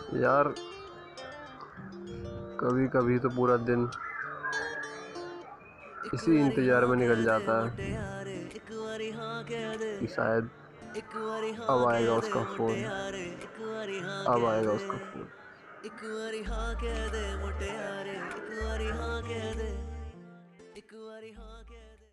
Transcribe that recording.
यार कभी कभी तो पूरा दिन एक इसी बारी इंतजार हाँ में कह निकल दे जाता है मोटे यारे, एक बारी हाँ कह दे, कि शायद एक बारी अब हाँ आएगा कह दे उसका मोटे फोन। यारे, एक बारी हाँ अब कह आएगा दे, उसका फोन। एक बारी हाँ कह दे मोटे यारे, एक बारी हाँ कह दे, एक बारी हाँ कह